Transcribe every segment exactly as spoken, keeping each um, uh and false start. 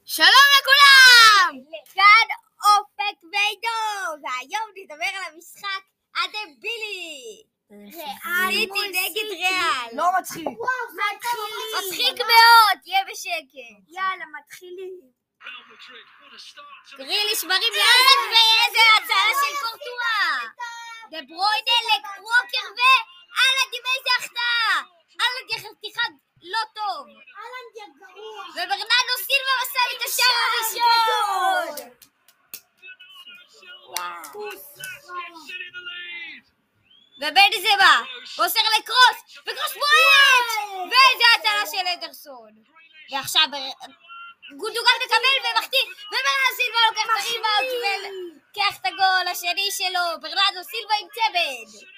שלום לכולם! כאן אופק ועידו, והיום נדבר על המשחק הדבילי. סיטי נגד ריאל. לא מצחיק. מצחיק מאוד, תהיה בשקט. יאללה, מתחילים. גריליש מרים יד ואיזה הצעה של קורטואה. דה ברויינה לווקר ואלנד עם איזה החטאה. אלנד יחתיכה לא טוב. וברנרדו סילבה מסב את השער הראשון. ובנזמה מוסר לקרוס וקרוס בועט ואיזה הצלה של אדרסון. ועכשיו גונדוגן מקבל ומחטיא וברנרדו סילבה לוקח את הריבאונד ולוקח את הגול השני שלו. ברנרדו סילבה עם צמד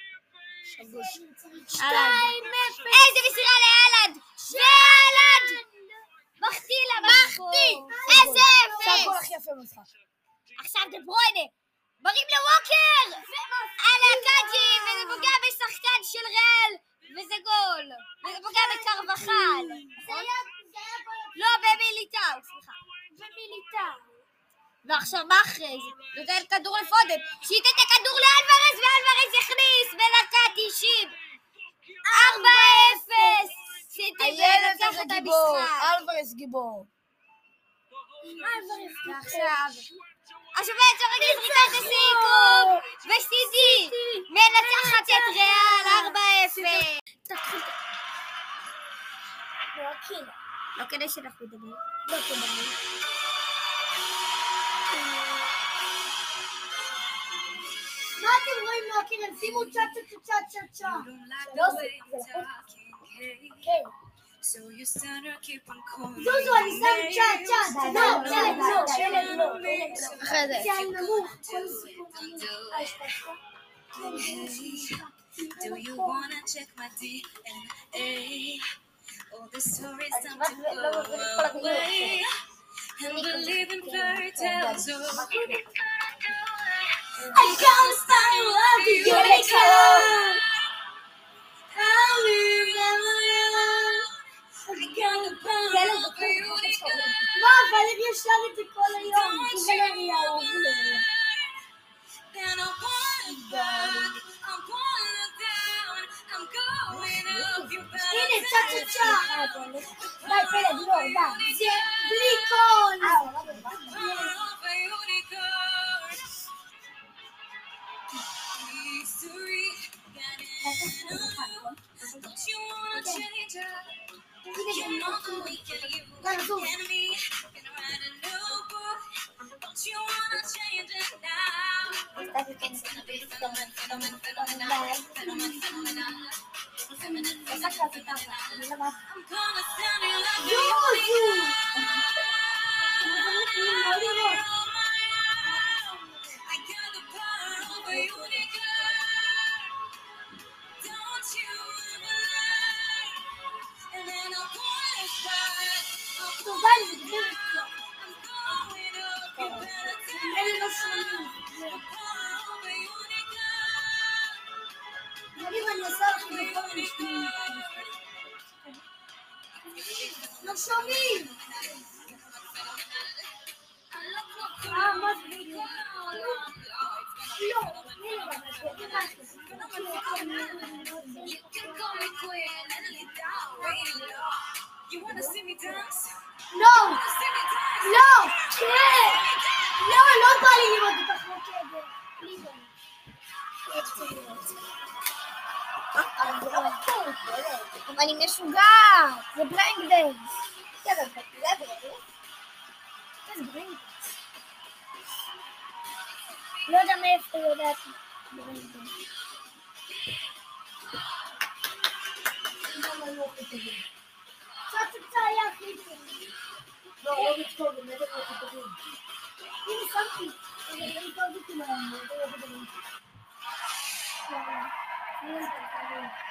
שתיים אפס. איזה מסירה לאלנד ואלנד מחטיא לה מחטיא איזה אפס. זה הגול הכי יפה במשחק. עכשיו דה ברויינה מרים לווקר על הקאג'י וזה פוגע בשחקן של ריאל וזה גול וזה פוגע בקרבחל. לא, במיליטאו, סליחה, במיליטאו. ועכשיו מה אחרי זה? נותן כדור לפודן שייתן את הכדור לאלוורז ואלוורז יכניס בדקה תשעים. ארבע אפס. סיטי לוקח את המשחק. אלוורז גיבור. ועכשיו השופט שרגיל זריקת הסיכום וסיטי מנצחת את ריאל ארבע אפס. לא כדי שאנחנו נדבר. לא כדי. מה אתם רואים לוקר? הם שימו צ'ה צ'ה צ'ה צ'ה צ'ה. לא זה כן. זוזו, אני שם צ'ה צ'ה. לא, לא, לא. אחרי זה. זה נמוך. Do you wanna check my D N A? All the stories time to go away and believe in fairy tales. I can't stand love you like her. I'll remember you. I can't abandon you. מה, אבל הם ישר את זה כל היום. זה לא ריאל. Then I want back. I'm going down. I'm going up. You better הנה, צ'ה צ'ה צ'ה. די, פלד, לא, די. זה בלי קול. of a unicorn. History got in a loop. Don't you wanna change her? You know that we can use enemy and write a new book. Don't you wanna change it now? It's gonna be phenomenal, phenomenal, phenomenal, phenomenal, phenomenal. Feminine, feminine, feminine. I'm gonna stand in love with you. I got the power of a unicorn. Don't you ever lie. And then I'll point it back. I'm going up. You better take the power of a unicorn. אני ואני עושה לך בכל משקיעים. לא שומעים. אה, מה זה? לא. You can call me queen and lead down rain. You wanna see me dance? לא. See me dance? לא. כן. לא, לא בא לי לראות אותך רוקדת. אבל אני משוגעת. זה בריינג דנס. זה בריינג. לא יודע מאיפה יודעת בריינג דנס. צ'ה צ'ה צ'ה היה הכי טוב. לא, לא מתקוד, אני יודעת מה כתובים. הנה, שמתי. אני מתקוד אותי להם. אני יודעת מה כתובים.